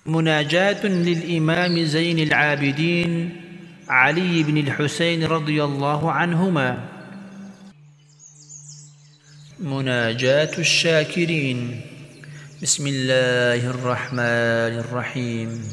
مناجاة للإمام زين العابدين علي بن الحسين رضي الله عنهما. مناجاة الشاكرين. بسم الله الرحمن الرحيم.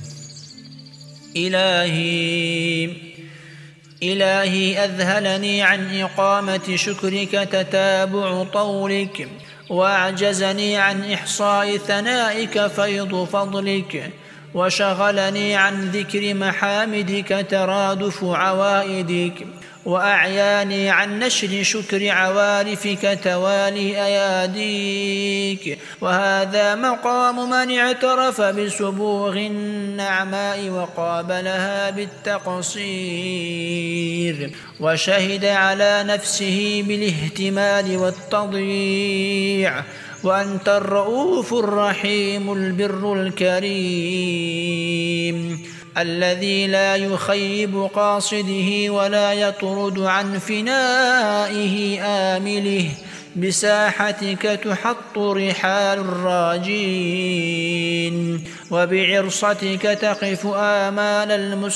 إلهي أذهلني عن إقامة شكرك تتابع طولك، وأعجزني عن إحصاء ثنائك فيض فضلك، وشغلني عن ذكر محامدك ترادف عوائدك، وأعياني عن نشر شكر عوارفك توالي أياديك. وهذا مقام من اعترف بسبوغ النعماء وقابلها بالتقصير، وشهد على نفسه بالاهتمال والتضييع، وأنت الرؤوف الرحيم البر الكريم، الذي لا يخيب قاصده ولا يطرد عن فنائه آمله. بساحتك تحط رحال الراجين، وبعرصتك تقف آمال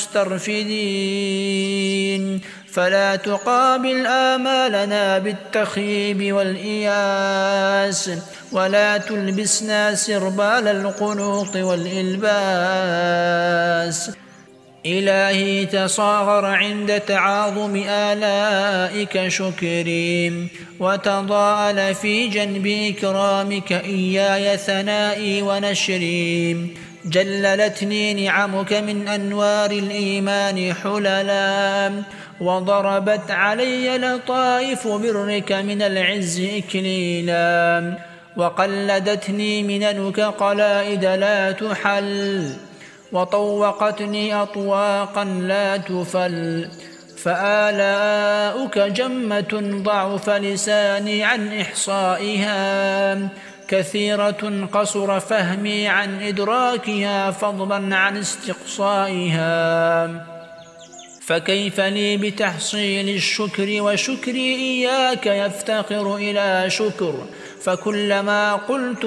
المسترفدين. فلا تقابل آمالنا بالتخيب والإياس، ولا تلبسنا سربال القنوط والإلباس. إلهي تصاغر عند تعاظم آلائك شكري، وتضاءل في جنب إكرامك إياي ثنائي ونشري. جللتني نعمك من أنوار الإيمان حللا، وضربت علي لطائف برك من العز إكليلا، وقلدتني مننك قلائد لا تحل، وطوقتني أطواقا لا تفل. فآلاؤك جمة ضعف لساني عن إحصائها، كثيرة قصر فهمي عن إدراكها فضلا عن استقصائها. فكيف لي بتحصيل الشكر وشكري إياك يفتقر إلى شكر؟ فكلما قلت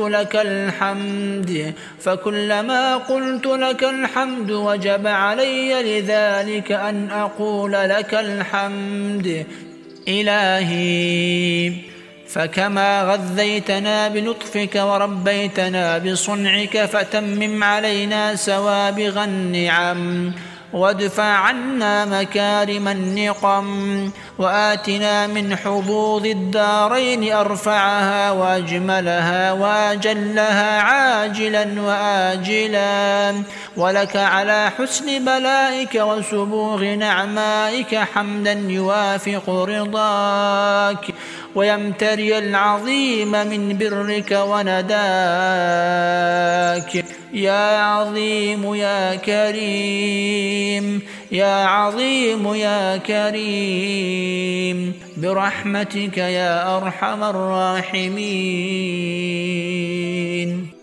لك الحمد وجب علي لذلك أن أقول لك الحمد. إلهي فكما غذيتنا بلطفك وربيتنا بصنعك، فتمم علينا سوابغ النعم، وادفع عنا مكارم النقم، وآتنا من حظوظ الدارين أرفعها وأجملها وأجلها عاجلا وآجلا. ولك على حسن بلائك وسبوغ نعمائك حمدا يوافق رضاك، ويمتري العظيم من برك ونداك. يا عظيم يا كريم، يا عظيم يا كريم، برحمتك يا أرحم الراحمين.